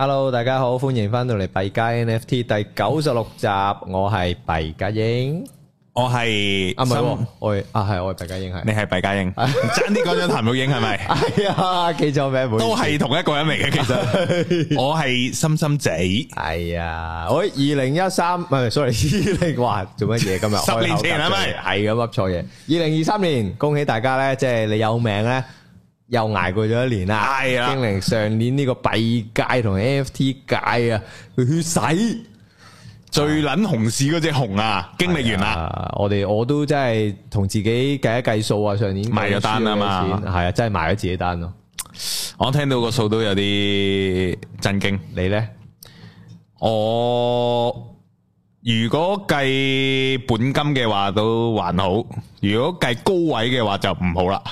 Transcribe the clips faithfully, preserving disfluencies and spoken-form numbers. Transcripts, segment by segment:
Hello， 大家好，歡迎翻到嚟幣加 N F T 第九十六集，我係幣加鷹， 我係啊唔係，我係啊係我係幣加鷹，係你係幣加鷹，爭啲講咗譚玉英係咪？ 係啊，記錯名， 都係同一個人嚟嘅，其實我係心心仔， 係啊，我二零一三唔係 sorry， 二零話做乜嘢今日？ 十年前係咪？ 係咁噏錯嘢，二零二三年，恭喜大家咧，即係你有命咧。又捱過咗一年啦，係啊，經歷上年呢個幣界同 N F T 界啊，血洗最撚熊市嗰隻熊啊，經歷完啦。 我哋我都真係同自己計一計數啊，上年賣咗單啊嘛， 係啊，真係賣咗自己單咯。 我聽到個數都有啲震驚， 你咧？ 我如果計本金嘅話都還好，如果計高位嘅話就唔好啦。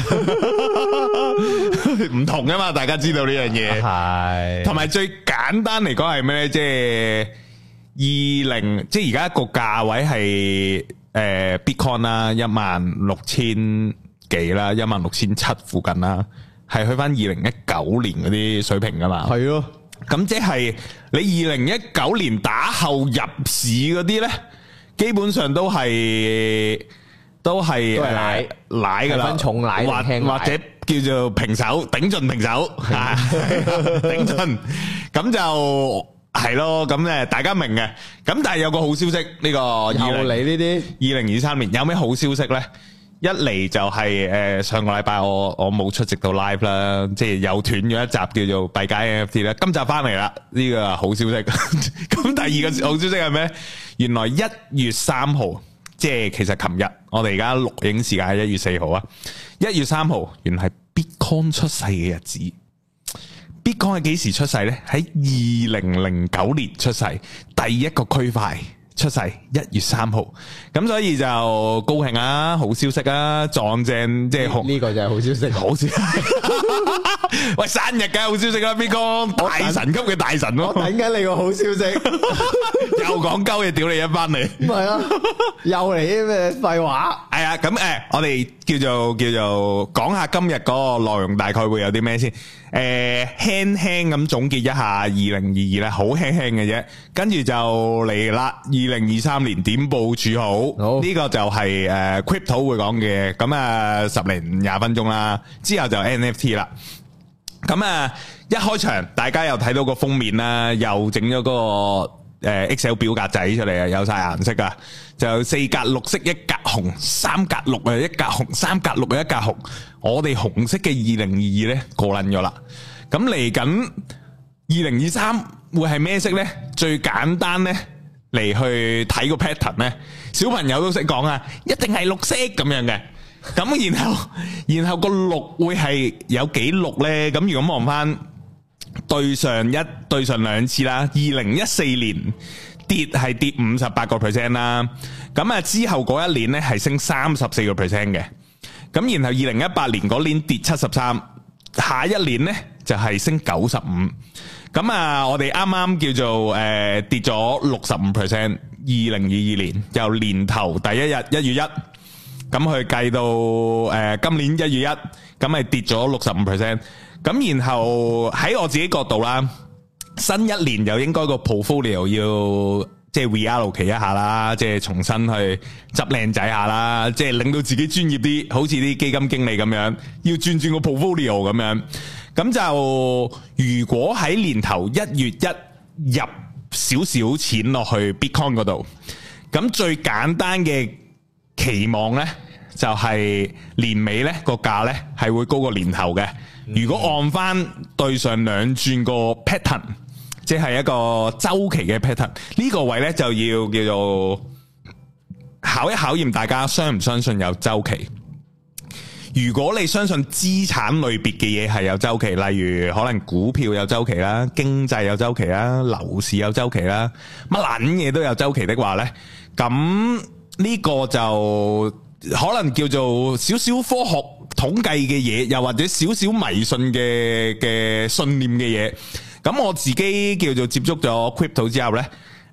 唔同噶嘛，大家知道呢樣嘢係。同埋最簡單嚟講係咩咧？即係二零，即係而家個價位係誒 Bitcoin 啦，一萬六千幾啦，一萬六千七附近啦，係去翻二零一九年嗰啲水平噶嘛。係咯。咁即係你二零一九年打後入市嗰啲咧，基本上都係都係奶奶噶啦，分重奶或或者叫做平手，頂盡平手，頂盡咁就係咯。咁誒，大家明嘅。咁但係有個好消息，呢個又嚟呢啲二零二三年有咩好消息咧？一嚟就係誒上個禮拜我我冇出席到 live 啦，即係又斷咗一集叫做幣加 N F T 啦。今集翻嚟啦，呢個好消息。咁第二個好消息係咩？原來一月三號，即係其實琴日，我哋而家錄影時間係一月四號啊。一月三號，原來係 Bitcoin 出世嘅日子。Bitcoin 係幾時出世呢？喺二零零九年出世，第一個區塊。出世一月三號，咁所以就高興啊，好消息啊，撞正即係呢個就係好消息， 好消息。喂，生日梗係好消息啦，邊個大神級嘅大神咯？ 我等緊你個好消息， 又講鳩嘢，屌你一班你。唔係啊， 又嚟啲咩廢話？ 係啊，咁誒，我哋叫做叫做講下今日嗰個內容，大概會有啲咩先？誒，輕輕咁總結一下二零二二咧，好輕輕嘅啫，跟住就嚟啦。二零二三年點部署好？呢個就係誒 crypto 會講嘅，咁啊十零廿分鐘啦，之後就 N F T 啦。咁啊一開場，大家又睇到個封面啦，又整咗嗰個誒 Excel 表格仔出嚟啊，有晒顏色噶，就四格綠色一格紅，三格綠啊一格紅，三格綠啊一格紅。我哋紅色嘅二零二二咧過撚咗啦，咁嚟緊二零二三會係咩色咧？最簡單咧嚟去睇個 pattern 咧，小朋友都識講啊，一定係綠色咁樣嘅。咁然後然後個綠會係有幾綠咧？咁如果望翻對上一對上兩次啦，二零一四年跌係跌五十八個 percent 啦，咁啊之後嗰一年咧係升三十四個 percent 嘅。咁然後二零一八年嗰年跌七十三，下一年呢就係升九十五。咁啊，我哋啱啱叫做誒跌咗六十五 percent。二零二二年由年頭第一日一月一，咁去計到誒今年一月一，咁係跌咗六十五 percent。咁然後喺我自己角度啦，新一年又應該個 portfolio 要。即係 reallocate 一下啦，即係重新去執靚仔下啦，即係令到自己專業啲，好似啲基金經理咁樣，要轉轉個 portfolio 咁樣。咁就如果喺年頭一月一入少少錢落去 Bitcoin 嗰度，咁最簡單嘅期望呢，就係年尾呢個價呢係會高過年頭嘅。如果按翻對上兩轉個 pattern。即係一個周期嘅 pattern，呢個位呢就要叫做考一考驗大家相唔相信有周期。如果你相信資產類別嘅嘢係有周期，例如可能股票有周期啦，經濟有周期啦，樓市有周期啦，乜撚嘢都有周期的話呢，咁呢個就可能叫做少少科學統計嘅嘢，又或者少少迷信嘅嘅信念嘅嘢。咁我自己叫做接觸咗 crypto 之後呢，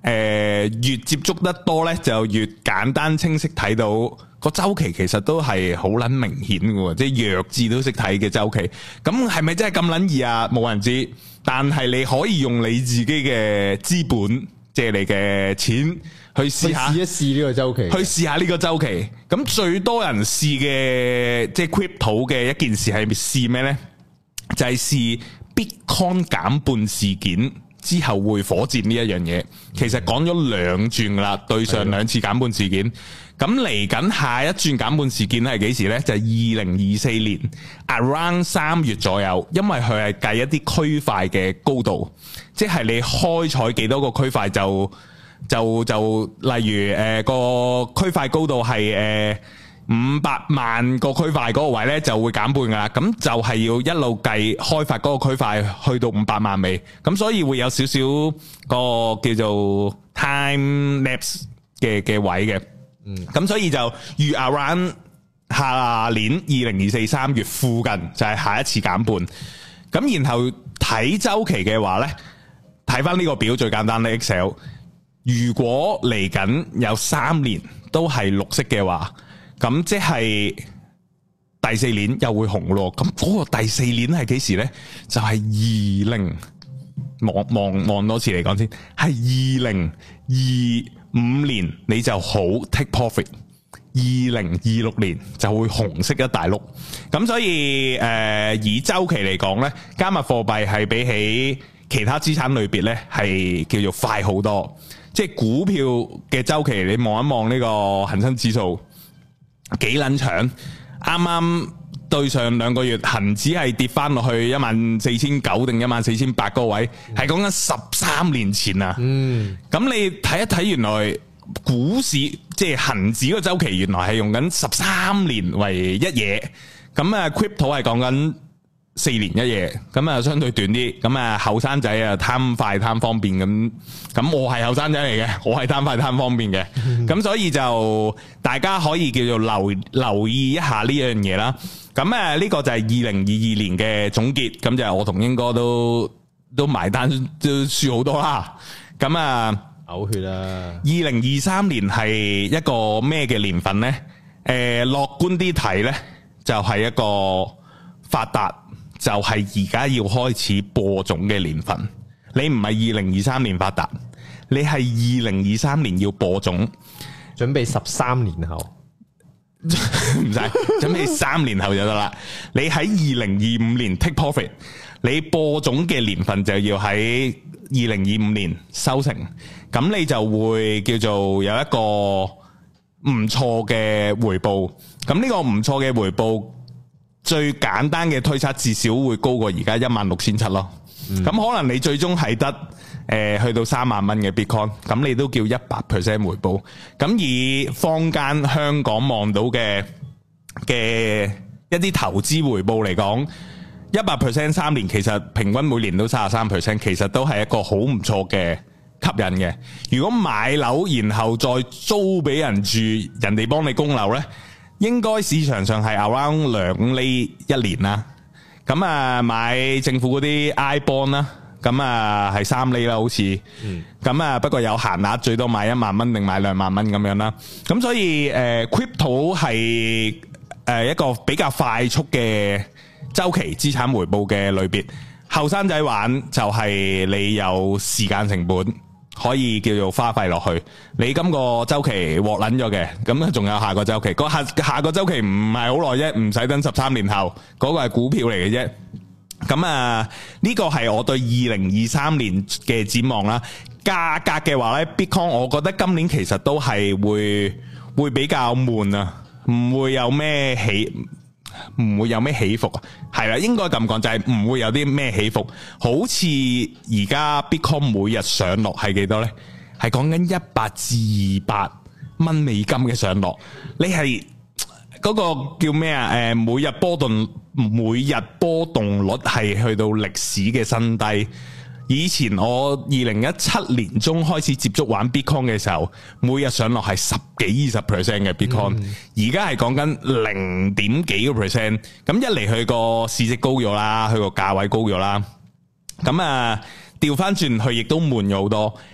誒越接觸得多咧，就越簡單清晰睇到個周期，其實都係好撚明顯嘅，即係弱智都識睇嘅周期。咁係咪真係咁撚易啊？冇人知，但係你可以用你自己嘅資本，即係你嘅錢去試下， 試一試呢個周期， 去試下呢個周期。咁最多人試嘅即係 crypto 嘅一件事係試咩咧？就係試 Bitcoin 減半事件之後會火箭呢一樣嘢。其實講咗兩轉噶啦，對上兩次減半事件。咁嚟緊下一轉減半事件係幾時呢？就係二零二四年 around 三月左右，因為佢係計一啲區塊嘅高度，即係你開採幾多個區塊就就就例如誒、呃、個區塊高度係誒五百萬個區塊嗰個位呢，就會減半噶啦。咁就係要一路計開發嗰個區塊去到五百萬尾，咁所以會有少少個叫做 time lapse 嘅嘅位嘅。嗯，咁所以就預 around 下年二零二四三月附近就係下一次減半。咁然後睇周期嘅話呢，睇翻呢個表最簡單嘅 Excel。如果嚟緊有三年都係綠色嘅話，咁即係第四年又會紅咯。咁嗰個第四年係幾時呢？就係二零望望望多次嚟講先，係二零二五年你就好 take profit， 二零二六年就會紅色一大碌。咁所以誒、呃、以周期嚟講呢，加密貨幣係比起其他資產類別呢係叫做快好多。即係股票嘅周期，你望一望呢個恒生指數幾撚長，啱啱對上兩個月恒指係跌翻落去一萬四千九定一萬四千八個位，係講緊十三年前啊。嗯，咁你睇一睇，原來股市即係恒指個周期，原來係用緊十三年為一嘢。咁啊 ，crypto 係講緊四年一夜，咁啊相對短啲，咁啊後生仔啊貪快貪方便咁，咁我係後生仔嚟嘅，我係貪快貪方便嘅，咁所以就大家可以叫做留留意一下呢樣嘢啦。咁啊呢個就係二零二二年嘅總結，咁就我同英哥都都埋單都輸好多啦。咁啊嘔血啦！ 二零二三年係一個咩嘅年份呢？誒，樂觀啲睇呢，就係一個發達。就係而家要開始播種嘅年份，你唔係二零二三年發達，你係二零二三年要播種， 準備十三年後， 唔使準備三年後就得啦。你喺二零二五年 take profit， 你播種嘅年份就要喺二零二五年收成，咁你就會叫做有一個唔錯嘅回報。咁呢個唔錯嘅回報，最簡單嘅推測至少會高過而家一萬六千七咯，咁、嗯、可能你最終係得誒、呃、去到三萬蚊嘅 Bitcoin， 咁你都叫一百 percent 回報。咁以坊間香港望到嘅嘅一啲投資回報嚟講，一百 percent 三年其實平均每年都三十三 percent， 其實都係一個好唔錯嘅吸引嘅。如果買樓然後再租俾人住，人哋幫你供樓呢，應該市場上係 around 兩厘一年啦，咁啊買政府嗰啲 I bond 啦，咁啊係三厘啦好似，咁啊不過有限額，最多買一萬蚊定買兩萬蚊咁樣啦，咁所以誒 crypto 係誒一個比較快速嘅周期資產回報嘅類別，後生仔玩就係你有時間成本。可以叫做花費落去，你今個周期獲捻咗嘅，咁仲有下個周期，個下下個周期唔係好耐啫，唔使等十三年後，嗰個係股票嚟嘅啫。咁啊，呢個係我對二零二三年嘅展望啦。價格嘅話呢 Bitcoin 我覺得今年其實都係會會比較悶啊，唔會有咩起。唔會有咩起伏啊，係啦，應該咁講就係唔會有啲咩起伏，好似而家 Bitcoin 每日上落係幾多呢？係講緊一百至二百蚊美金嘅上落，你係嗰個叫咩啊？誒，每日波動，每日波動率係去到歷史嘅新低。以前我二零一七年中開始接觸玩 Bitcoin 嘅時候，每日上落係十幾二十 percent 嘅 Bitcoin，而家係講緊零點幾個 percent。咁一嚟佢個市值高咗啦，佢個價位高咗啦。咁啊調翻轉佢亦都悶咗好多。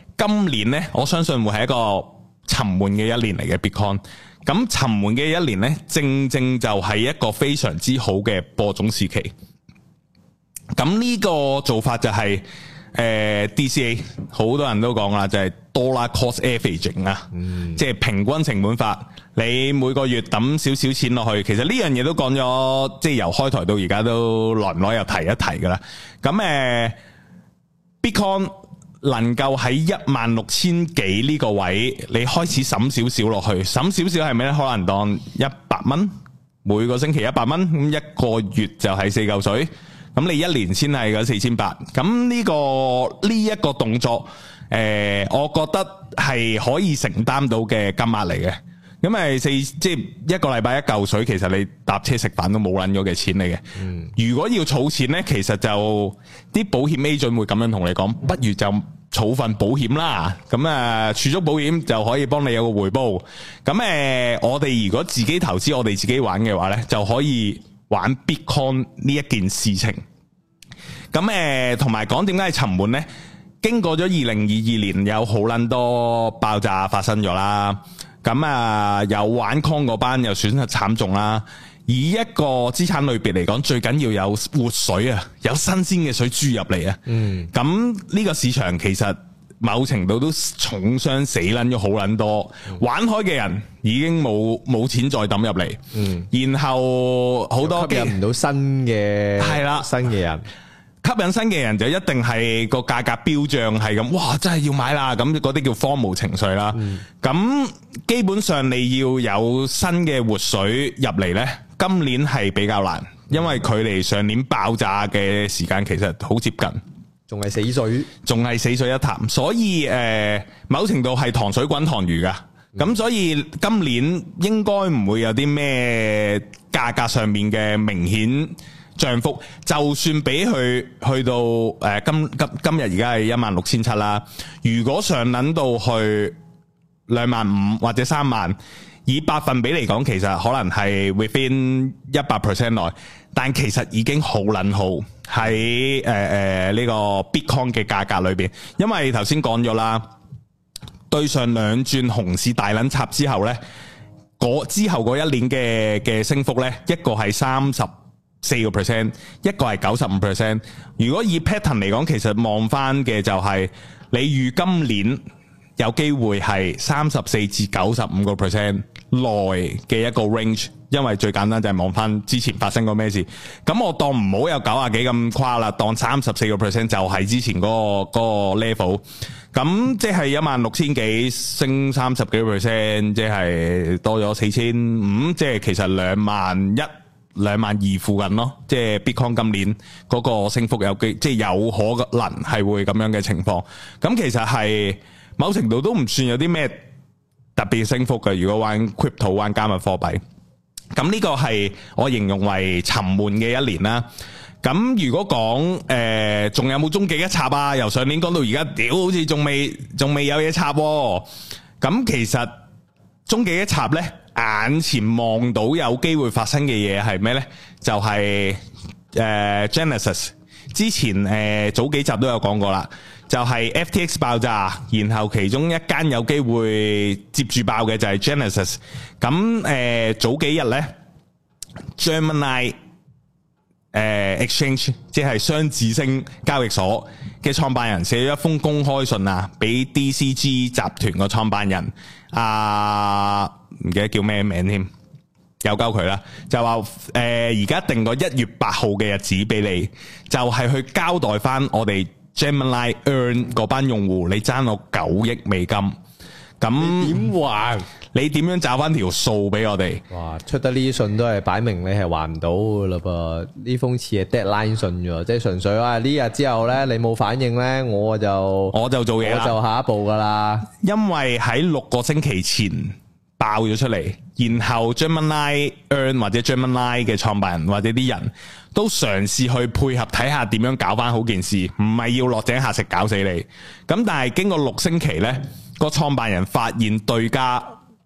今年呢，我相信會係一個沉悶嘅一年嚟嘅 Bitcoin。咁沉悶嘅一年呢，正正就係一個非常之好嘅播種時期。咁呢個做法就係、是、誒、呃、D C A， 好多人都講啦，就係、是、Dollar Cost Averaging 啊，嗯、即係平均成本法。你每個月抌少少錢落去，其實呢樣嘢都講咗，即係由開台到而家都耐唔耐又提一提噶啦。咁誒、呃、Bitcoin 能夠喺一萬六千幾呢個位，你開始審少少落去，審少少係咩咧？可能當一百蚊，每個星期一百蚊，咁一個月就係四嚿水，咁你一年先係嗰四千八。咁呢個呢一個動作，誒、呃，我覺得係可以承擔到嘅金額嚟嘅。咁咪四即係一個禮拜一嚿水，其實你搭車食飯都冇撚咗嘅錢嚟嘅。嗯、如果要儲錢呢，其實就啲保險 agent 會咁樣同你講，不如就儲份保險啦。咁啊，儲蓄保險就可以幫你有個回報。咁誒、呃，我哋如果自己投資，我哋自己玩嘅話呢，就可以玩 Bitcoin 呢一件事情。咁誒，同埋講點解係沉悶呢？經過咗二零二二年，有好撚多爆炸發生咗啦。咁啊，有玩 Coin 嗰班又損失慘重啦。以一個資產類別嚟講，最緊要有活水啊，有新鮮嘅水注入嚟啊。嗯。咁呢個市場其實某程度都重傷死撚咗好撚多，嗯、玩開嘅人已經冇冇錢再抌入嚟。嗯。然後好多吸引唔到新嘅係啦，新嘅人。 吸引新嘅人就一定係個價格飆漲係咁，哇！真係要買啦，咁嗰啲叫荒蕪情緒啦。咁、嗯、基本上你要有新嘅活水入嚟呢，今年係比較難，因為距離上年爆炸嘅時間其實好接近， 仲係死水， 仲係死水一潭。所以誒、呃，某程度係糖水滾糖魚噶。咁、嗯、所以今年應該唔會有啲咩價格上面嘅明顯漲幅，就算俾佢去到誒、呃、今今今日而家係一萬六千七啦。如果上撚到去兩萬五或者三萬，以百分比嚟講，其實可能係 within 一百 percent 內，但其實已經好撚好喺誒誒呢個 Bitcoin 嘅價格裏邊。因為頭先講咗啦，對上兩轉熊市大撚插之後呢，嗰之後嗰一年嘅嘅升幅呢，一個係三十四個 percent， 一個係九十五 percent。如果以 pattern 嚟講，其實望翻嘅就係你預今年有機會係三十四至九十五個 percent 內嘅一個 range，因為最簡單就係望翻之前發生過咩事。咁我當唔好有九啊幾咁誇啦，當三十四個 percent 就係之前嗰個嗰個 level。咁即係一萬六千幾升三十幾個 percent，即係多咗四千五，即係其實兩萬一。兩萬二附近咯，即係 Bitcoin 今年嗰個升幅有機，即係有可能係會咁樣嘅情況。咁其實係某程度都唔算有啲咩特別升幅嘅。如果玩 Crypto 玩加密貨幣，咁呢個係我形容為沉悶嘅一年啦。咁如果講誒，仲有冇終極一插啊？由上年講到而家，屌好似仲未仲未有嘢插。咁其實終極一插呢，眼前望到有機會發生嘅嘢係咩呢？就係、是、誒、呃、Genesis 之前誒、呃、早幾集都有講過啦，就係、是、F T X 爆炸，然後其中一間有機會接住爆嘅就係 Genesis。咁誒、呃、早幾日呢 Gemini 誒、呃、Exchange 即係雙子星交易所嘅創辦人寫咗一封公開信啊，俾 D C G 集團個創辦人啊。唔記得叫咩名添，有交佢啦，就話誒而家定個一月八號嘅日子俾你，就係、是、去交代翻我哋 Gemini Earn 嗰班用戶，你爭我九億美金，咁點還？你點樣找翻條數俾我哋？哇！ 出得呢啲信都係擺明你係還唔到噶啦噃，呢封似係 deadline 信啫，即係純粹話呢日之後咧你冇反應咧，我就我就做嘢啦， 我就下一步噶啦， 因為喺六個星期前爆咗出嚟，然後 Gemini Earn 或者 Gemini 嘅創辦人或者啲人都嘗試去配合睇下點樣搞翻好件事，唔係要落井下石搞死你。咁但係經過六星期呢，個創辦人發現對家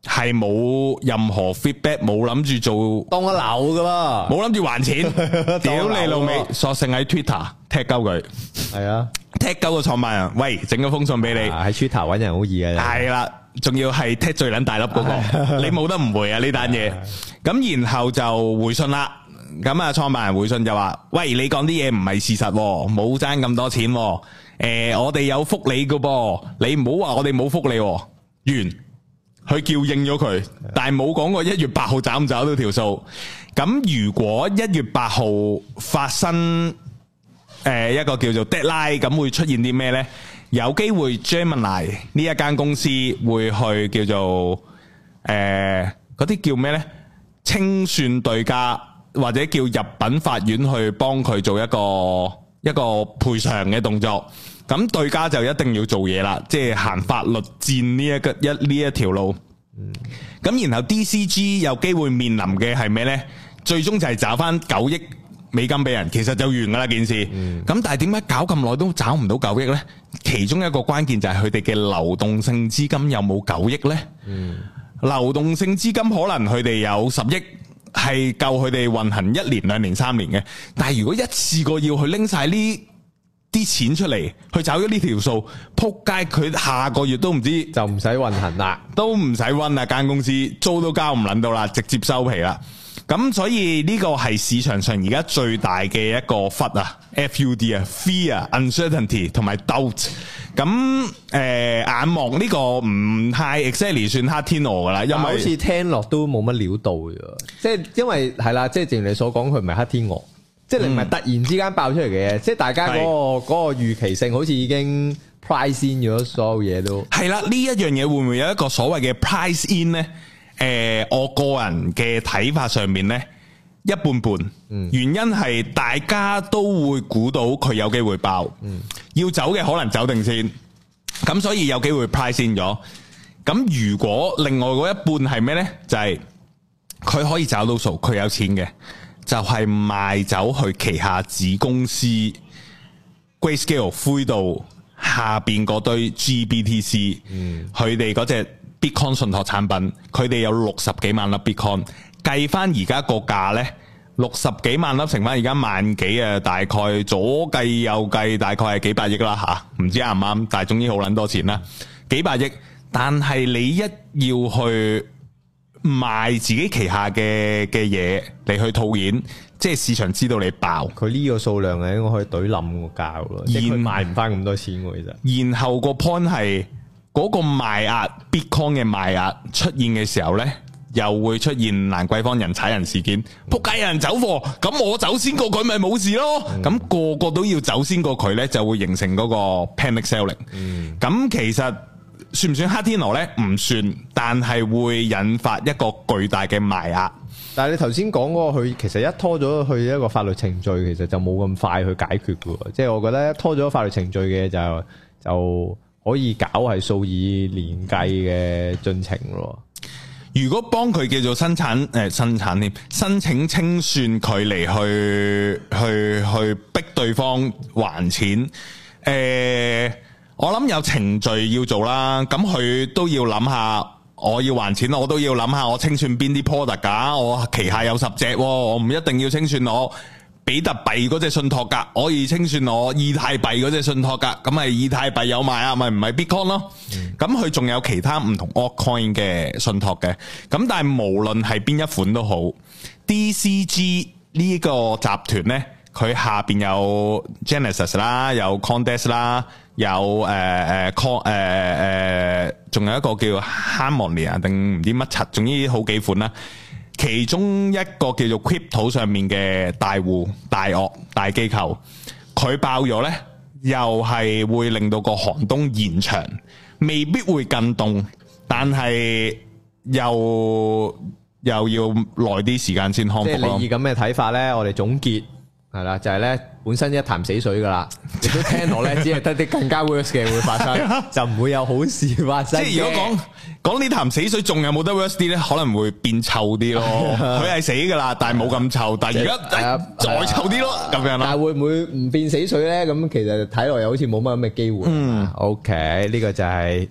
係冇任何 feedback， 冇諗住做當一樓噶啦， 冇諗住還錢，屌你老味，索性喺 Twitter 踢鳩佢，係啊，踢鳩個創辦人，喂，整個封信俾你，喺 Twitter 搵人好易嘅， 係啦，仲要係踢最撚大粒嗰個，你冇得唔回啊呢單嘢，咁然後就回信啦。咁啊，創辦人回信就話：喂，你講啲嘢唔係事實，冇爭咁多錢。誒、呃，我哋有福利噶噃，你唔好話我哋冇福利。完，佢叫應咗佢，但係冇講過一月八號找唔找到條數。咁如果一月八號發生誒、呃、一個叫做 deadline，咁會出現啲咩呢？有機會 Gemini 呢一間公司會去叫做誒嗰啲叫咩呢？清算對價。或者叫入稟法院去幫佢做一個一個賠償嘅動作，咁對家就一定要做嘢啦，即係行法律戰呢一個一呢一條路。咁、嗯、然後 D C G 有機會面臨嘅係咩呢？最終就係找翻九億美金俾人，其實就完噶啦件事。咁、嗯、但係點解搞咁耐都找唔到九億呢？其中一個關鍵就係佢哋嘅流動性資金有冇九億呢？嗯、流動性資金可能佢哋有十億。係夠佢哋運行一年、兩年、三年嘅，但係如果一次過要去拎晒呢啲錢出嚟，去找咗呢條數，撲街佢下個月都唔知就唔使運行啦， 都唔使運啦，間公司租都交唔捻到啦，直接收皮啦。咁所以呢個係市場上而家最大嘅一個 F U D 啊 ，F U D 啊 ，Fear、Uncertainty 同埋 Doubt。咁誒、呃，眼望呢個唔太 exactly 算黑天鵝噶啦，因為好似聽落都冇乜料到嘅，即係因為係啦，即係正如你所講，佢唔係黑天鵝，即係你唔係突然之間爆出嚟嘅嘢，嗯、即係大家嗰、那個嗰是個預期性好似已經 price in 咗所有嘢都係啦。呢一樣嘢會唔會有一個所謂嘅 price in 呢？誒、呃，我個人嘅睇法上面呢，一半半，嗯、原因係大家都會估到佢有機會爆，嗯、要走嘅可能走定先，咁所以有機會 price in 咗。咁如果另外嗰一半係咩呢？就係、是、佢可以找到數，佢有錢嘅，就係、是、賣走去旗下子公司 Grayscale 灰度下邊嗰堆 G B T C，佢哋嗰隻。Bitcoin 信託產品，佢哋有六十幾萬粒 Bitcoin，計翻而家個價呢，六十幾萬粒乘翻而家萬幾啊，大概左計右計，大概係幾百億啦吓，唔知啱唔啱，但係總之好捻多錢啦，幾百億。但係你一要去賣自己旗下嘅嘅嘢嚟去套現，即係市場知道你爆， 佢呢個數量係應該可以懟冧個價咯，即係佢賣唔翻咁多錢喎，其實。 然後個 point 係。嗰個賣壓 Bitcoin 嘅賣壓出現嘅時候呢，又會出現蘭桂坊人踩人事件，仆街有人走貨，咁我走先過佢咪冇事咯。咁、嗯、個個都要走先過佢呢，就會形成嗰個 panic selling。咁、嗯、其實算唔算黑天鵝呢？唔算，但係會引發一個巨大嘅賣壓。 但係你頭先講嗰個，佢其實一拖咗去一個法律程序，其實就冇咁快去解決嘅。即係我覺得一拖咗法律程序嘅就就。可以搞係數以年計嘅進程咯。 如果幫佢叫做生產誒、呃、生產添，申請清算佢嚟去去去逼對方還錢，誒、呃，我諗有程序要做啦。咁佢都要諗下，我要還錢，我都要諗下我清算邊啲 product 㗎。我旗下有十隻，我唔一定要清算我比特幣嗰隻信託噶，可以清算我以太幣嗰隻信託噶，咁咪以太幣有賣啊，咪唔係 Bitcoin 咯。咁佢仲有其他唔同 altcoin 嘅信託嘅，咁但係無論係邊一款都好 ，D C G 呢個集團呢，佢下邊有 Genesis 啦，有 CoinDesk 啦，有誒誒 Con 誒誒，仲有一個叫 Harmony 啊，定唔知乜柒，總之好幾款啦。其中一個叫做 Crypto 上面嘅大戶、大鱷、大機構，佢爆咗呢，又係會令到個寒冬延長，未必會更凍，但係又又要耐啲時間先康復咯。即係你以咁嘅睇法呢，我哋總結係啦，就係呢本身一潭死水噶啦，亦都聽落呢，只係得啲更加 worse 嘅會發生，就唔會有好事發生。 即係如果講。講呢潭死水仲有冇得 worse 啲咧？可能會變臭啲咯。佢係死噶啦，但係冇咁臭。但係而家再臭啲咯，咁樣啦。 但係會唔會唔變死水咧？咁其實睇落又好似冇乜咁嘅機會。嗯，OK，呢個就係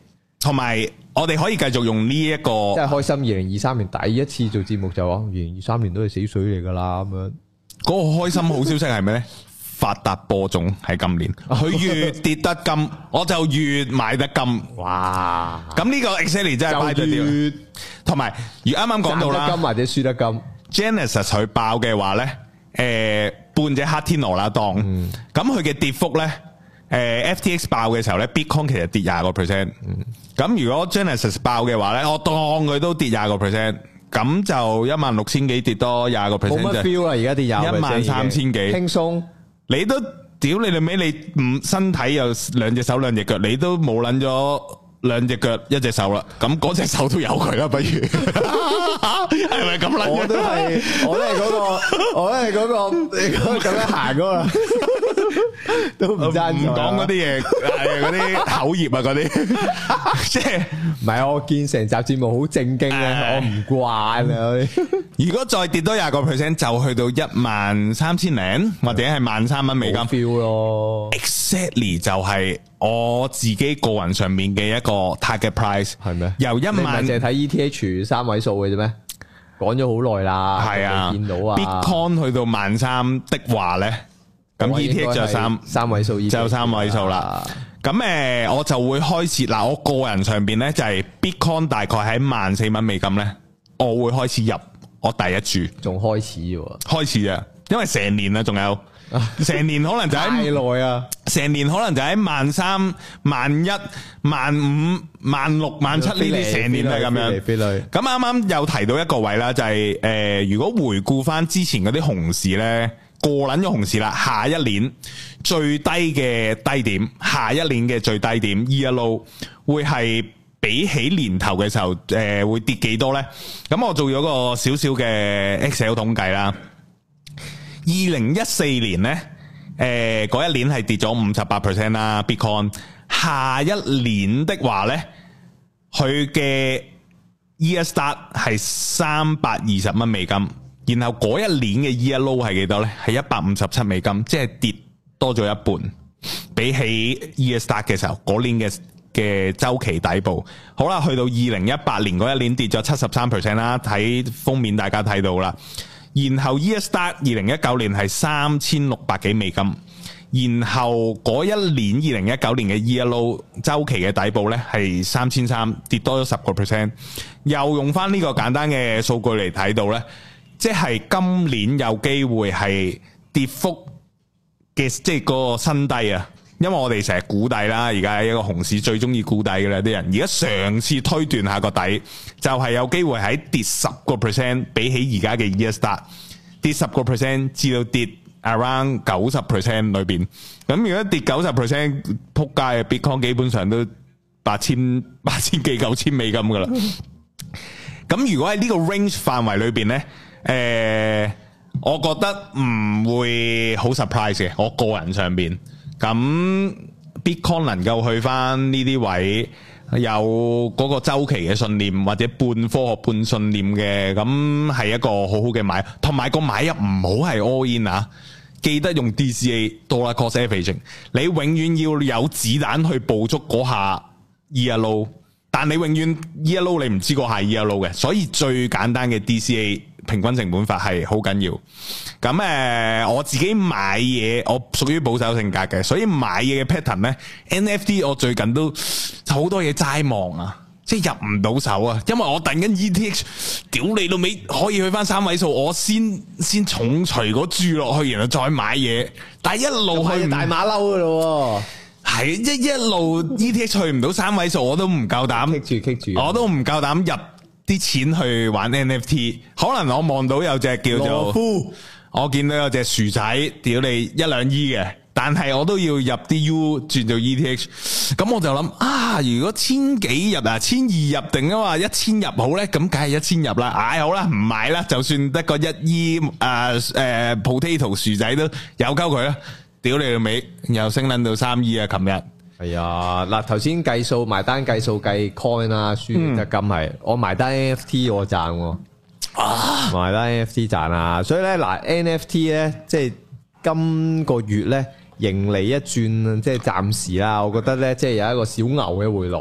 同埋我哋可以繼續用呢、這、一個， 即係開心。二零二三年第一次做節目就話，二零二三年都係死水嚟噶啦咁樣。 嗰個開心好消息係咩咧？發達播種喺今年，佢越跌得金，我就越買得金。哇！咁呢個 exactly 真係買得掉。同埋，如啱啱講到啦，賺得金或者輸得金。Genesis 佢爆嘅話咧，誒、呃、半隻黑天鵝啦當，咁佢嘅跌幅咧，誒、呃、F T X 爆嘅時候咧 ，Bitcoin 其實跌廿個 percent。咁、嗯、如果 Genesis 爆嘅話咧，我當佢都跌廿個 percent，咁就一萬六千幾跌多廿個 percent。冇乜 feel 啦，而家跌廿一萬三千幾，輕鬆。你都屌你哋尾，你唔身體有兩隻手兩隻腳，你都冇捻咗兩隻腳一隻手啦，咁嗰隻手都有佢啦，不如係咪咁捻？我都係，我都係嗰個，我都係嗰個，你嗰個咁樣行噶啦，都唔爭唔講嗰啲嘢，係嗰啲口業啊，嗰啲即係唔係？我見成集節目好正經咧，我唔慣啊。如果再跌多廿個 percent，就去到一萬三千零，或者係萬三蚊美金 feel 咯。Exactly 就係我自己個人上面嘅一個 target price 係咩？由一萬，你淨係睇 E T H 三位數嘅啫咩？講咗好耐啦，係啊，見到啊。Bitcoin 去到萬三的話咧，咁 E T H 就三三位數，就三位數啦。咁誒，我就會開始嗱，我個人上邊咧就係 Bitcoin 大概喺萬四蚊美金咧，我會開始入。我第一注，仲開始喎，開始啊，因為成年啦，仲有成年可能就喺太耐啊，成年可能就喺萬三、萬一、萬五、萬六、萬七呢啲成年係咁樣。咁啱啱又提到一個位啦，就係、是、誒、呃，如果回顧翻之前嗰啲熊市咧，過撚咗熊市啦，下一年最低嘅低點，下一年嘅最低點 year low 會係。比起年頭嘅時候，誒、呃、會跌幾多咧？咁我做咗個少少嘅 Excel 統計啦。二零一四年咧，誒、呃、嗰一年係跌咗五十八 percent 啦。Bitcoin 下一年的話咧，佢嘅 year start 係三百二十蚊美金，然後嗰一年嘅 year low 係幾多咧？係一百五十七美金，即係跌多咗一半。比起 year start 嘅時候，嗰年嘅嘅周期底部，好啦，去到二零一八年嗰一年跌咗七十三 percent 啦，睇封面大家睇到啦。然後 year start 二零一九年係三千六百幾美金，然後嗰一年二零一九年嘅 year low 周期嘅底部呢係三千三，跌多咗十個 percent。又用翻呢個簡單嘅數據嚟睇到呢，即係今年有機會係跌幅嘅，即係個新低啊！因為我哋成日估底啦，而家係一個熊市最中意估底嘅啦啲人。而家嘗試推斷下個底，就係、是、有機會喺跌十個 percent，比起而家嘅 year start 跌十個 percent 至到跌 around 九十 percent 裏邊。咁如果跌九十 percent，撲街嘅 Bitcoin 基本上都八千八千幾九千美金噶啦。咁如果喺呢個 range 範圍裏邊呢，誒、呃，我覺得唔會好 surprise 嘅。我個人上邊。咁 Bitcoin 能夠去翻呢啲位，有嗰個週期嘅信念或者半科學半信念嘅，咁係一個好好嘅買，同埋個買入唔好係 all in 啊！記得用 D C A Dollar Cost Averaging， 你永遠要有子彈去捕捉嗰下 year low， 但你永遠 year low 你唔知嗰下 year low 嘅，所以最簡單嘅 D C A。平均成本法係好緊要，咁誒、呃，我自己買嘢，我屬於保守性格嘅，所以買嘢嘅 pattern 咧 ，N F T 我最近都好多嘢齋望啊，即係入唔到手啊，因為我等緊 E T H， 屌你老味可以去翻三位數，我先先重錘嗰注落去，然後再買嘢，但係一路去大馬騮噶咯，係一一路 E T H 去唔到三位數，我都唔夠膽，棘住棘住，我都唔夠膽入啲錢去玩 N F T， 可能我望到有隻叫做，夫我見到有隻薯仔，屌你一兩億嘅，但係我都要入啲 U 轉做 E T H， 咁我就諗啊，如果千幾入啊，千二入定啊嘛，一千入好咧，咁梗係一千入啦，唉、哎、好啦，唔買啦，就算得個一億誒誒 potato 薯仔都有鳩佢啦，屌你個尾，又升捻到三億啊，琴日。係啊，嗱頭先計數埋單計數計 coin 啊，輸得咁係，我埋單 N F T 我賺喎，啊埋單 N F T 賺啊，所以咧嗱 N F T 咧即係今個月咧盈利一轉，即係暫時啦，我覺得咧即係有一個小牛嘅回來，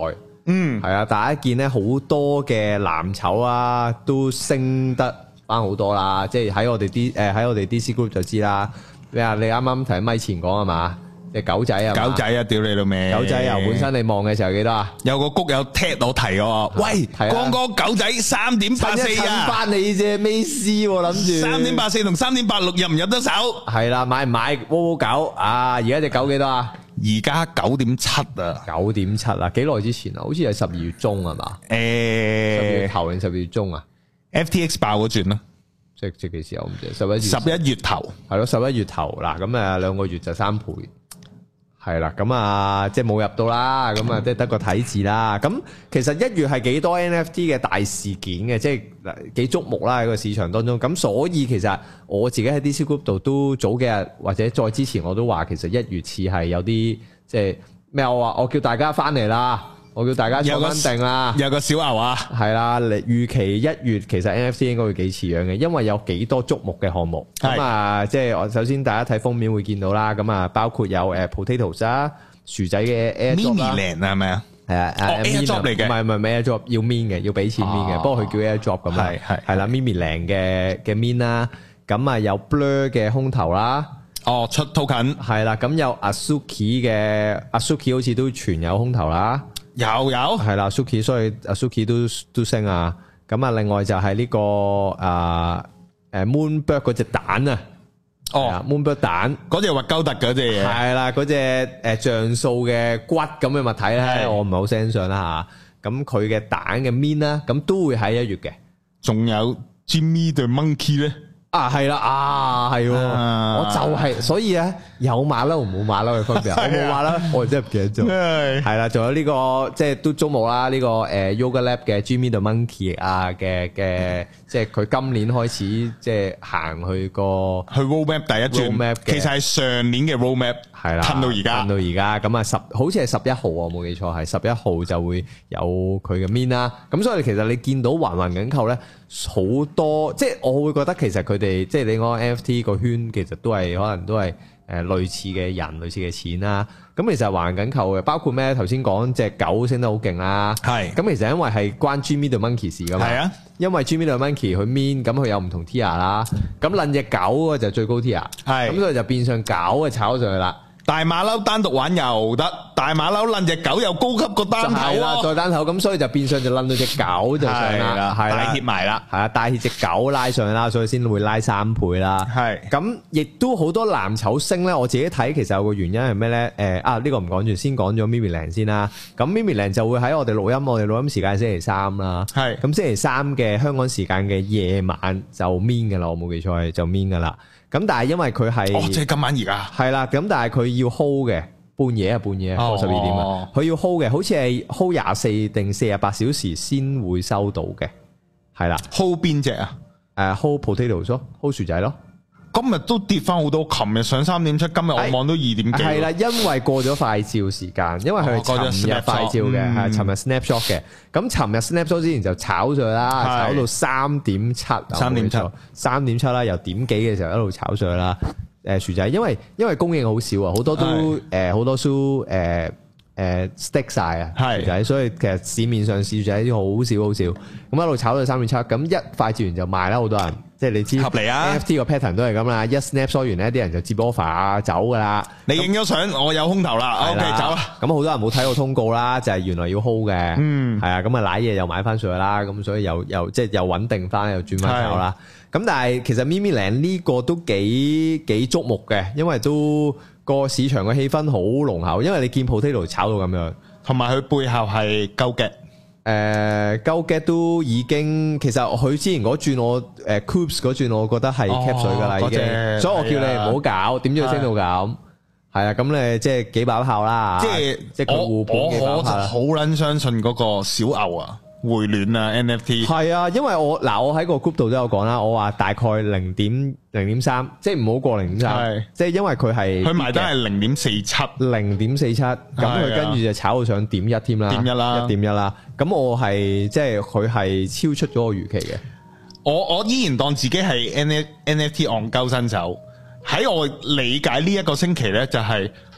嗯， 係啊，大家見咧好多嘅藍籌啊，都升得翻好多啦。即係喺我哋啲誒喺我哋 D C Group 就知啦。咩啊？你啱啱提咪前講係嘛？隻狗仔啊， 狗仔啊，屌你老味！ 狗仔由本身你望嘅時候幾多啊？ 有個谷友踢我提我，喂，光哥狗仔三點八四啊， 翻你隻美斯諗住三點八四同三點八六入唔入得手？ 係啦，買唔買？窩窩狗啊！而家隻狗幾多啊？ 而家九點七啊， 九點七啊！幾耐之前啊？好似係十二月中係嘛？ 誒，十二月頭定十二月中啊 ？F T X 爆嗰轉啦， 即即幾時啊？我唔知十一月十一月頭係咯，十一月頭嗱，咁啊兩個月就三倍。係啦，咁啊，即係冇入到啦，咁啊，即係得個睇字啦。咁其實一月係幾多 N F T 嘅大事件嘅，即係幾矚目啦喺個市場當中。咁所以其實我自己喺 D C Group 度都早幾日或者再之前我都話，其實一月似係有啲即係咩？我話我叫大家翻嚟啦，我叫大家坐穩定啦， 有個小牛啊， 係啦，預期一月其實 N F T 應該會幾似樣嘅，因為有幾多矚目嘅項目。咁啊，即係我首先大家睇封面會見到啦，咁啊包括有誒 potatoes 啊，薯仔嘅 airdrop 啦 ，mini land 係咪啊？ 係啊 ，airdrop 嚟嘅， 唔係唔係 airdrop 要 min 嘅，要俾錢 min 嘅，不過佢叫 airdrop 咁啊， 係係係啦 mini land 嘅嘅 min 啦，咁啊有 blur 嘅空投啦， 哦出 token 係啦，咁有 Azuki 嘅 Azuki 好似都全有空投啦。 有有係啦 ，Suki 所以 Suki 都都升啊。咁啊，另外就係呢、這個啊誒 Moonbird 嗰隻蛋啊， 哦 Moonbird 蛋嗰隻核鳩突嗰隻嘢， 係啦，嗰隻誒像素嘅骨咁嘅物體咧，我唔係好欣賞啦吓。咁佢嘅蛋嘅面啦，咁都會喺一月嘅。 仲有 Jimmy the Monkey 咧。 啊，係啦，啊，係，我就係，所以咧有馬騮同冇馬騮嘅分別，我冇馬騮，我真係唔記得咗。係啦，仲有呢個即係都矚目啦，呢個誒 Yoga Lab 嘅 Jimmy the Monkey 啊嘅嘅，即係佢今年開始即係行去個去 roadmap 第一轉，其實係上年嘅 roadmap，係啦，褪到而家， 褪到而家，咁啊十好似係十一號啊，冇記錯係十一號就會有佢嘅 min 啦。咁所以其實你見到環環緊扣咧。好多即係我會覺得其實佢哋即係你講 N F T 個圈其實都係可能都係誒類似嘅人類似嘅錢啦。咁其實環緊扣嘅包括咩？頭先講隻狗升得好勁啦，係咁其實因為係關 Jimmy the Monkey 事噶嘛，係啊，因為 Jimmy the Monkey 佢 min 咁佢有唔同 tier 啦，咁撚隻狗就最高 tier， 係咁所以就變相狗嘅炒上去啦。 大馬騮單獨玩又得，大馬騮撚隻狗又高級過單頭啦，再單頭咁，所以就變相就撚到隻狗就上啦，係啦， 帶挈埋啦， 係啊，帶挈隻狗拉上啦，所以先會拉三倍啦。係咁，亦都好多藍籌升咧。我自己睇其實有個原因係咩咧？誒啊，呢個唔講住，先講咗 Mimi Land 先啦。咁 Mimi Land 就會喺我哋錄音，我哋錄音時間星期三啦。係咁，星期三嘅香港時間嘅夜晚就 min 嘅啦，我冇記錯係就 min 嘅啦。咁但係因為佢係， 哦，即係今晚而家係啦，咁但係佢要 hold 嘅，半夜啊半夜過十二點啊，佢要 hold 嘅，好似係 hold 廿四定四十八小時先會收到嘅，係啦 ，hold 邊隻啊？ 誒 hold potatoes 咯 ，hold 薯仔咯。 今日都跌翻好多，琴日上三點七，今日我望到二點幾。係啦，因為過咗快照時間，因為佢係尋日快照嘅，係尋日 snapshot 嘅。咁尋日 snapshot 之前就炒上去啦，炒到三點七，三點七，三點七啦，由點幾嘅時候一路炒上去啦。誒薯仔，因為因為供應好少啊，好多都誒好多都誒誒 stick 晒啊薯仔，所以其實市面上薯仔好少好少。咁一路炒到三點七，咁一快照完就賣啦，好多人。即係你知，合理啊 ！N F T 個 pattern 都係咁啦，一 snapshot 完咧，啲人就接 offer 啊，走噶啦。 你影咗相，我有空頭啦，OK 走啦。 咁好多人冇睇過通告啦，就係原來要 hold 嘅，嗯，係啊，咁啊瀨嘢又買翻上去啦，咁所以又又即係又穩定翻，又轉翻手啦。咁但係其實 Mimi Land 呢個都幾幾矚目嘅，因為都個市場嘅氣氛好濃厚，因為你見 potato 炒到咁樣， 同埋佢背後係鳩嘅。 誒，Go Get 都已經，其實佢之前嗰轉我誒 Coops 嗰轉，我覺得係 cap 水噶啦，已經，所以我叫你唔好搞，點知佢升到咁，係啊，咁你即係幾把炮啦，即係即係互捧幾把炮啦， 好撚相信嗰個小牛啊，回暖啊 N F T， 係啊，因為我嗱我喺個 group 度都有講啦，我話大概零點零點三，即係唔好過零點三，即係因為佢係佢埋單係零點四七， 零點四七，咁佢跟住就炒到上點一添啦， 點一啦， 一點一啦。咁我係即係佢係超出咗我預期嘅。 我我依然當自己係 N F T 戇鳩新手。喺我理解呢一個星期咧，就係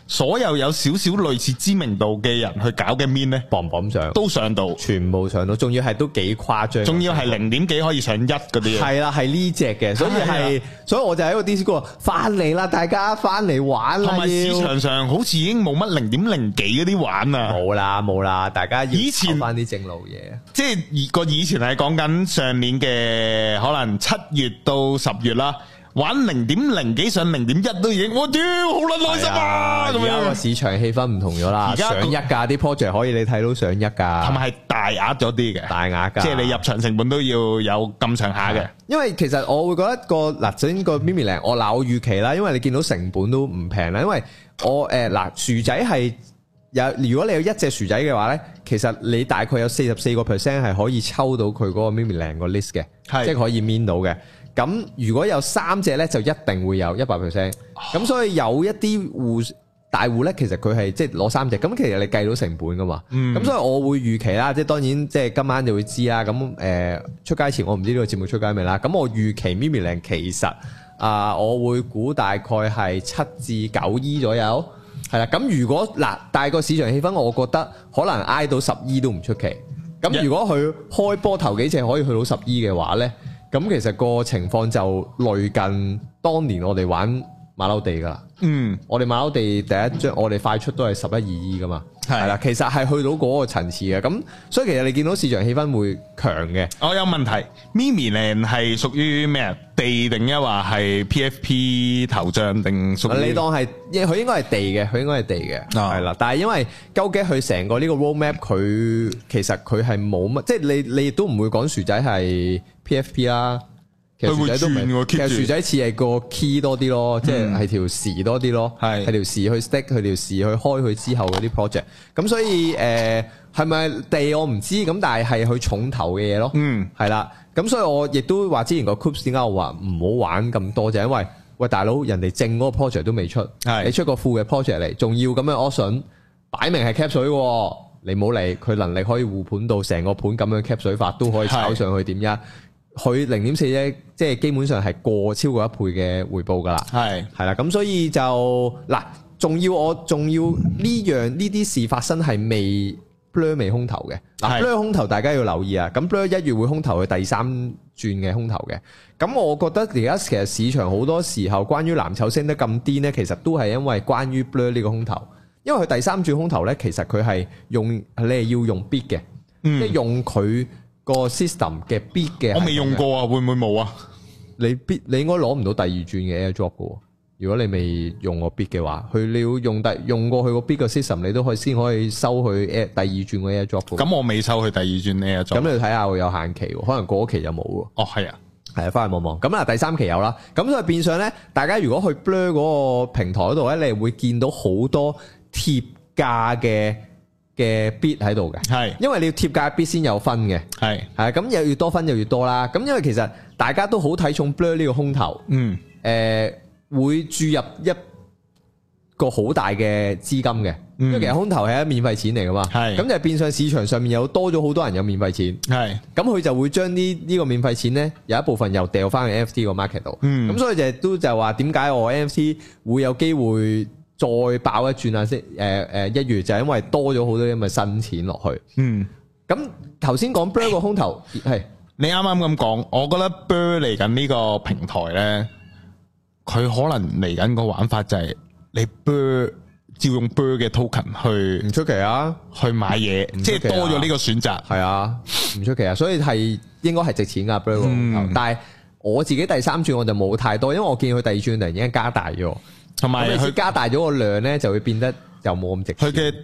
所有有少少類似知名度嘅人去搞嘅 meme 咧， 磅磅上都上到， 全部上到，仲要係都幾誇張， 仲要係零點幾可以上一嗰啲。 係啦，係呢隻嘅，所以係，所以我就喺個 Discord 話翻嚟啦，大家翻嚟玩啦。 同埋市場上好似已經冇乜零點零幾嗰啲玩啊， 冇啦冇啦，大家要以前翻啲正路嘢， 即係個以前係講緊上年嘅可能七月到十月啦。玩零點零幾上零點一都已經，我屌好撚開心啊！ 而家個市場氣氛唔同咗啦，上一價啲 project 可以你睇到上一價， 同埋係大額咗啲嘅， 大額㗎， 即係你入場成本都要有咁上下嘅。因為其實我會覺得個嗱，首先個 Mimi Land 我嗱我預期啦，因為你見到成本都唔平啦，因為我誒嗱、呃、薯仔係有，如果你有一隻薯仔嘅話咧，其實你大概有四十四個 percent 係可以抽到佢嗰個 Mimi Land 個 list 嘅，即係可以 min 到嘅。咁如果有三隻咧，就一定會有一百 percent。咁所以有一啲戶大戶咧，其實佢係即係攞三隻。咁其實你計到成本噶嘛。咁、嗯、所以我會預期啦，即係當然即係今晚就會知啦。咁誒、呃、出街前我唔知呢個節目出街未啦。咁我預期 Mimi Land 其實啊、呃，我會估大概係七至九億左右。係啦。咁如果嗱，大個市場氣氛，我覺得可能挨到十億都唔出奇。咁如果佢開波頭幾隻可以去到十億嘅話咧？咁其實個情況就類近當年我哋玩馬騮地噶啦，嗯，我哋馬騮地第一張我哋快出都係十一二億噶嘛，係啦，其實係去到嗰個層次嘅，咁所以其實你見到市場氣氛會強嘅。我有問題 ，Mimi Land 係屬於咩啊？地定一話係 P F P 頭像定屬於？你當係，佢應該係地嘅，佢應該係地嘅，係啦、哦。但係因為究竟佢成個呢個 roadmap，佢其實佢係冇乜，即係你你亦都唔會講薯仔係 P F P 啦。其實薯仔都唔係，其實薯仔似係個 key 多啲咯，即係係條匙多啲咯，係係條匙去 stick，佢條匙去開佢之後嗰啲 project。咁所以誒係咪地我唔知，咁但係係佢重頭嘅嘢咯。嗯，係啦。咁所以我亦都話之前個 Coops 點解我話唔好玩咁多，就係因為喂大佬人哋正嗰個 project 都未出，係你出個副嘅 project 嚟，仲要咁樣 option，擺明係 cap 水喎，你冇理佢能力可以護盤到成個盤咁樣 cap 水法都可以炒上去點一。佢零點四啫，即係基本上係過超過一倍嘅回報噶啦，係係啦，咁所以就嗱，仲要我仲要呢樣呢啲事發生係未 Blur 未空投嘅，嗱 Blur 空投大家要留意啊，咁 Blur 一月會空投佢第三轉嘅空投嘅，咁我覺得而家其實市場好多時候關於藍籌升得咁癲呢，其實都係因為關於 Blur 呢個空投，因為佢第三轉空投呢，其實佢係用你係要用 bid 嘅，嗯、即係用佢。個 system 嘅 bid 嘅，我未用過啊，會唔會冇啊？你 bid 你應該攞唔到第二轉嘅 airdrop 嘅，如果你未用過 bid 嘅話，佢你要用第用過佢個 bid 嘅 system，你都可以先可以收佢 air 第二轉嘅 airdrop。咁我未收佢第二轉 airdrop。咁你要睇下會有限期，可能過期就冇喎。哦，係啊，係啊，翻去望望。咁啊，第三期有啦。咁所以變相咧，大家如果去 Blur 嗰個平台嗰度咧，你會見到好多貼價嘅。嘅 bid 喺度嘅，係，因為你要貼價 bid 先有分嘅，係，係咁又越多分就越多啦。咁因為其實大家都好睇重 Blur 呢個空頭，嗯，誒、呃、會注入一個好大嘅資金嘅，嗯、因為其實空頭係一免費錢嚟噶嘛，係，咁就變相市場上面有多咗好多人有免費錢，係，咁佢就會將呢呢個免費錢咧有一部分又掉翻去 N F T 個 market 度，嗯，咁所以就都就話點解我 N F T 會有機會再爆一轉啊！即係誒誒一月就係因為多咗好多咁嘅新錢落去。嗯，咁頭先講 Blur 個空頭係你啱啱咁講，我覺得 Blur 嚟緊呢個平台咧，佢可能嚟緊個玩法就係你 Blur 照用 Blur 嘅 token 去唔出奇啊，去買嘢，即係多咗呢個選擇。係啊，唔出奇啊，所以係應該係值錢噶 Blur 個空頭。但係我自己第三轉我就冇太多，因為我見佢第二轉突然間加大咗。同埋佢加大咗個量咧，就會變得就冇咁值錢。佢嘅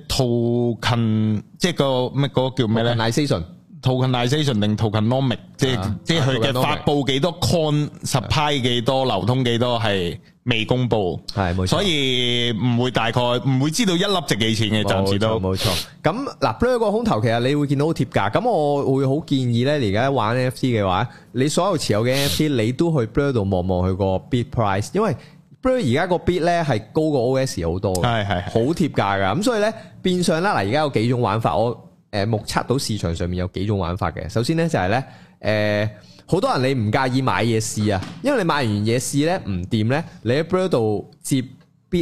token 即係個咩嗰個叫咩咧 ？tokenization 定 tokenomic，即係即係佢嘅發布幾多 coin、supply 幾多、流通幾多係未公布，係冇錯。所以唔會大概唔會知道一粒值幾錢嘅，暫時都冇錯。咁嗱 Blur 個空頭其實你會見到貼價，咁我會好建議咧，而家玩 N F T 嘅話，你所有持有嘅 N F T 你都去 Blur 度望望佢個 bid price， 因為Blur 而家個 bid 咧係高過 O S 好多嘅，係係好貼價噶，咁所以咧變相啦嗱，而家有幾種玩法，我誒目測到市場上面有幾種玩法嘅。首先咧就係咧誒，好多人你唔介意買嘢試啊，因為你買完嘢試咧唔掂咧，你喺 Blur 度接 bid 咧，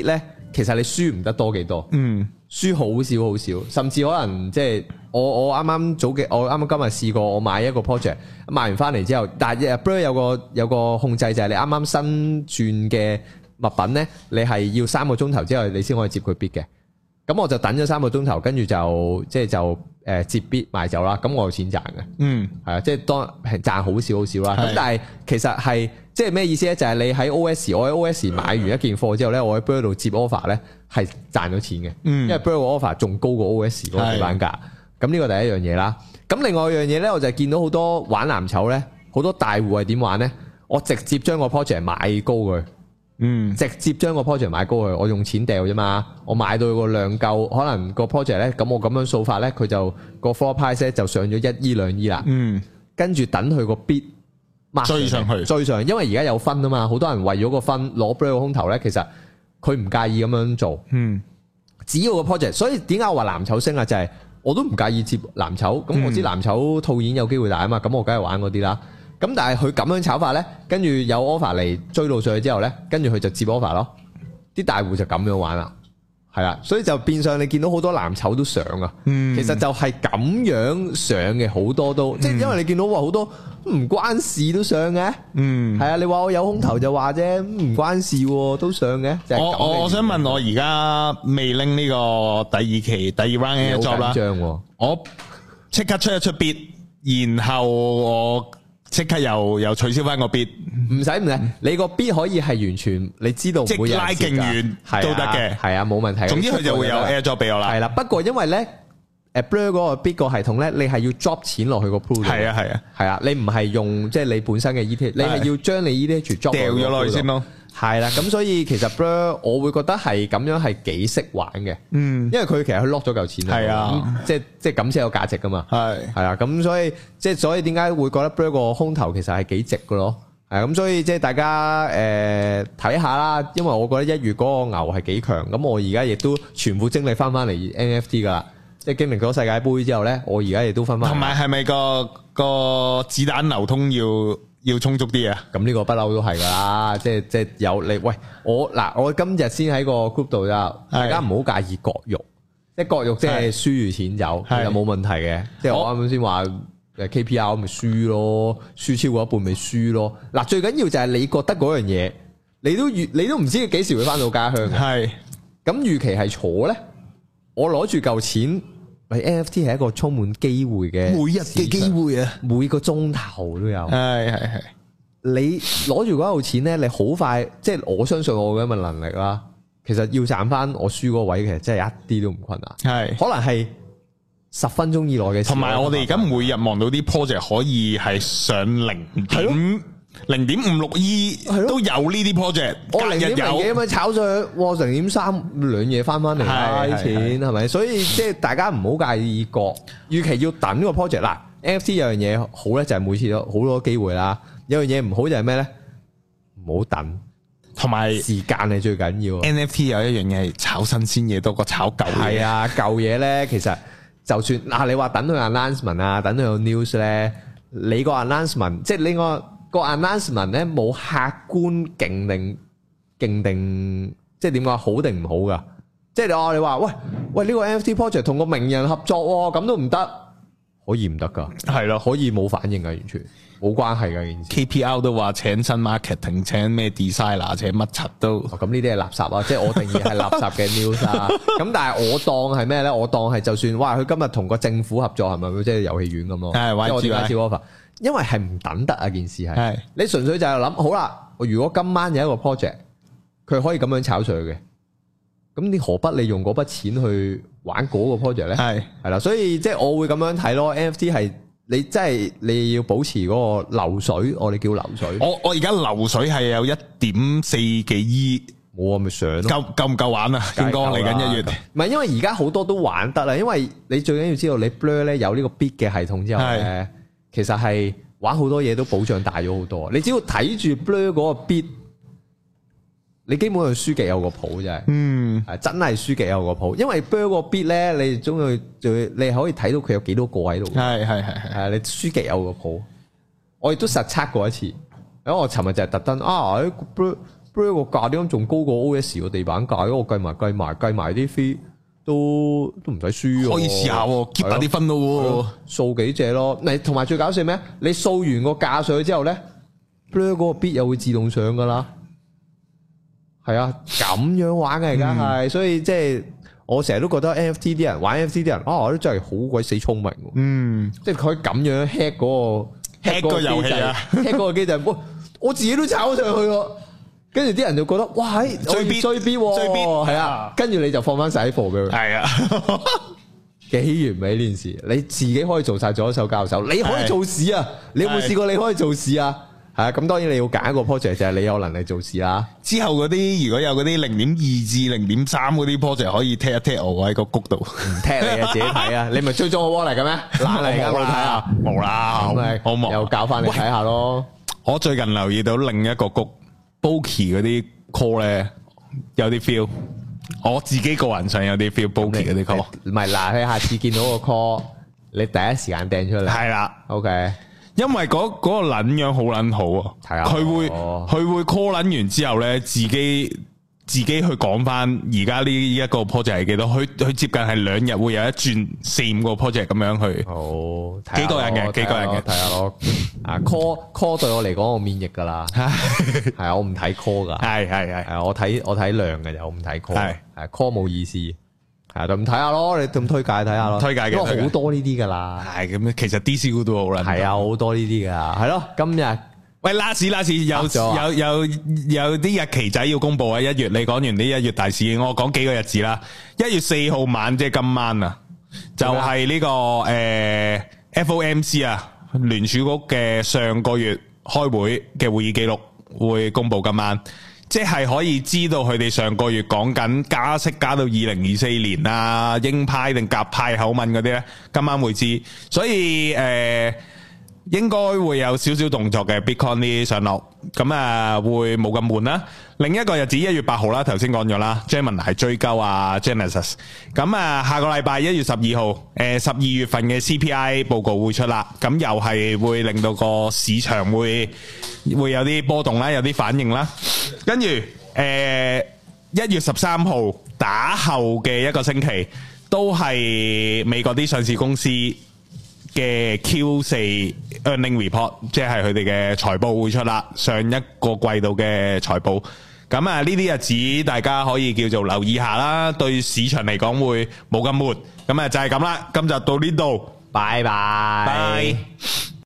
其實你輸唔得多幾多，嗯，輸好少好少，甚至可能即係我我啱啱早嘅，我啱啱今日試過，我買一個 project 買完翻嚟之後，但係 Blur 有個有個控制就係你啱啱新轉嘅物品咧，你係要三個鐘頭之後你先可以接佢 bid 嘅。咁我就等咗三個鐘頭，跟住就即係就誒接 bid 賣走啦。咁我有錢賺嘅，嗯，係啊，即係當係賺好少好少啦。咁但係其實係即係咩意思咧？就係、是、你喺 O S， 我喺 O S 買完一件貨之後咧，我喺 Blur 度接 offer 咧係賺咗錢嘅，嗯，因為 Blur 個 offer 仲高過 O S 嗰個地板價。咁呢個第一樣嘢啦。咁另外一樣嘢咧，我就見到好多玩藍籌咧，好多大戶係點玩咧？我直接將個 project 買高佢。嗯，直接將個 project 買高佢，我用錢掉啫嘛，我買到個量夠，可能個 project 咧，咁我咁樣數法咧，佢就個 floor price 咧就上咗一億兩億啦。嗯，跟住等佢個 bid 追上去， 追上去，因為而家有分啊嘛，好多人為咗個分攞 Blur 個空頭咧，其實佢唔介意咁樣做。嗯，只要個 project，所以點解我話藍籌升啊？就係、是、我都唔介意接藍籌，咁我知藍籌套現有機會大啊嘛，咁我梗係玩嗰啲啦。咁但係佢咁樣炒法咧，跟住有 offer 嚟追到上去之後咧，跟住佢就接 offer 咯。啲大戶就咁樣玩啦，係啦，所以就變相你見到好多藍籌都上啊。嗯，其實就係咁樣上嘅，好多都，即係、嗯、因為你見到話好多唔關事都上嘅。嗯，係啊，你話我有空頭就話啫，唔關事都上嘅。就係、 我我我想問我而家未拎呢個第二期第二 round 嘅 job 啦，我即刻出一出 bid，然後我。即刻又又取消翻個 bid， 唔使唔使，你個 bid 可以係完全你知道唔會有人接㗎， 即拉勁遠都得嘅， 係啊冇問題。 總之佢就會有 air drop 俾我啦。 係啦，不過因為咧，誒 Blur 嗰個 bid 個系統咧，你係要 drop 錢落去個 pool 度。係啊係啊，係啊，你唔係用即係你本身嘅 E T H，你係要將你 E T H drop 掉咗落去先咯。 係啦，咁所以其實 Blur 我會覺得係咁樣係幾識玩嘅，嗯，因為佢其實佢 lock 咗嚿錢係啊， 即係即係咁先有價值噶嘛，係係啊，咁所以即係所以點解會覺得 Blur 個空頭其實係幾值噶咯，係咁所以即係大家誒睇下啦，因為我覺得一月嗰個牛係幾強，咁我而家亦都全部精力翻翻嚟 N F T 噶啦，即係經歷咗世界盃之後咧，我而家亦都翻翻。同埋係咪個個子彈流通要？要充足啲啊！ 咁呢個不嬲都係噶啦，即係即係有你喂我嗱，我今日先喺個 group 度咋，大家唔好介意割肉，即係割肉即係輸住錢走，其實冇問題嘅。即係我啱啱先話誒 K P R 咪輸咯，輸超過一半咪輸咯。嗱，最緊要就係你覺得嗰樣嘢，你都預你都唔知幾時會翻到家鄉嘅。係咁預期係坐咧，我攞住嚿錢。N F T 係一個充滿機會嘅， 每日嘅機會啊， 每個鐘頭都有。 係係係， 你攞住嗰嚿錢咧，你好快，即係我相信我嘅咁嘅能力啦。其實要賺翻我輸嗰個位，其實真係一啲都唔困難。係，可能係十分鐘以內嘅事。 同埋我哋而家每日望到啲 project 可以係上零點零點五六億都有呢啲 project， 我零點零幾咁樣炒上去，哇零點三兩嘢翻翻嚟啦啲錢係咪？所以即係大家唔好介意割，預期要等個 project 嗱。N F T 有樣嘢好咧，就係每次都好多機會啦。有樣嘢唔好就係咩咧？唔好等， 同埋時間係最緊要。 N F T 有一樣嘢係炒新鮮嘢多過炒舊嘢。係啊，舊嘢咧其實就算嗱，你話等佢 announcement 啊，等佢有 news 咧，你個 announcement 即係呢個。個 announcement 咧冇客觀勁定勁定，即係點講好定唔好噶？即係你話你話喂喂呢個 N F T project 同個名人合作喎，咁都唔得，可以唔得噶？係咯，可以冇反應噶，完全冇關係噶件事。 K P R 都話請新 marketing，請咩 designer，請乜柒都。 咁呢啲係垃圾啊！即係我定義係垃圾嘅 news 啊。咁但係我當係咩咧？我當係就算哇，佢今日同個政府合作係咪即係遊戲院咁咯？係玩住玩住 offer。因為係唔等得啊！件事係，是你純粹就係諗好啦。如果今晚有一個 project，佢可以咁樣炒上去嘅，咁你何不利用嗰筆錢去玩嗰個 project 咧？係係啦，所以即係我會咁樣睇咯。N F T 係你真係你要保持嗰個流水，我哋叫流水。 我我而家流水係有一點四幾億， 我咪上咯。 夠夠唔夠玩啊？應該嚟緊一月。 唔係，因為而家好多都玩得啦。因為你最緊要知道，你 Blur 咧有呢個 bid 嘅系統之後咧。其實係玩好多嘢都保障大咗好多，你只要睇住 Blur 嗰個 bid，你基本上輸極有個譜真係，嗯，係真係輸極有個譜，因為 Blur 個 bid 咧，你終於就你可以睇到佢有幾多個喺度，係係係係，你輸極有個譜，我亦都實測過一次，因為我尋日就係特登啊，Blur Blur 個價點解仲高過 O S 個地板價？我計埋計埋計埋啲 fee 都都唔使輸， 可以試下 keep 下啲分咯， 掃幾隻咯。你同埋最搞笑咩？你掃完個價上去之後咧 ，Blur 嗰個 bit 又會自動上噶啦。係啊，咁樣玩嘅而家係，所以即係我成日都覺得 N F T 啲人玩 N F T 啲人啊，我都真係好鬼死聰明。嗯，即係佢咁樣 hack 嗰個 hack 個遊戲啊 ，hack 嗰個機制，我我自己都炒上去喎。跟住啲人就覺得哇，追 B 追 B 追 B 係啊，跟住你就放翻晒啲貨俾佢。係啊，幾完美呢件事，你自己可以做晒左手交右手，你可以做事啊！你有冇試過你可以做事啊？係啊，咁當然你要揀一個 project 就係你有能力做事啦。 之後嗰啲如果有嗰啲零點二至零點三嗰啲 project 可以踢一踢我喺個谷度， 唔踢你啊，自己睇啊！你咪追蹤我 wall 嚟嘅咩？懶嚟噶，我睇下， 冇啦，好忙， 又教翻你睇下咯。 我最近留意到另一個谷 Boki 嗰啲 call 咧，有啲 feel。我自己個人上有啲 feel Boki 嗰啲 call。 唔係嗱，你下次見到個 call，你第一時間掟出嚟。係啦 ，OK。 因為嗰嗰個撚樣好撚好啊，佢會佢會 call 撚完之後咧，自己自己去講翻而家呢一個 project 係幾多，佢佢接近係兩日會有一轉四五個 project 咁樣去。哦，幾個人嘅，幾個人嘅， 睇下咯。啊 call call 對我嚟講我免疫噶啦，係啊，我唔睇 call 噶，係係係，係我睇我睇量嘅，我唔睇 call，係係 call 冇意思。係就唔睇下咯，你咁推介睇下咯，推介嘅，因為好多呢啲噶啦。係咁，其實 D C U 都好啦。係啊，好多呢啲噶。係咯，今日喂 last last 有有有有啲日期仔要公布啊！一月你講完呢一月大事，我講幾個日子啦。一月四號晚即係今晚啊，就係呢個誒 F O M C 啊，聯儲局嘅上個月開會嘅會議記錄會公布今晚。即係可以知道佢哋上個月講緊加息加到二零二四年啊，鷹派定鴿派口吻嗰啲咧，今晚會知，所以誒、呃、應該會有少少動作嘅 Bitcoin 啲上落，咁啊會冇咁悶啦。另一個日子一月八號啦，頭先講咗啦 Gemini 係追鳩啊 Genesis， 咁啊下個禮拜一月十二號，誒十二月份嘅 C P I 報告會出啦，咁又係會令到個市場會會有啲波動啦，有啲反應啦。跟住誒一月十三號打後嘅一個星期，都係美國啲上市公司嘅 Q 四 earning report， 即係佢哋嘅財報會出啦，上一個季度嘅財報。咁啊呢啲日子大家可以叫做留意下啦，對市場嚟講會冇咁悶。咁啊就係咁啦，今集到呢度，拜拜。Bye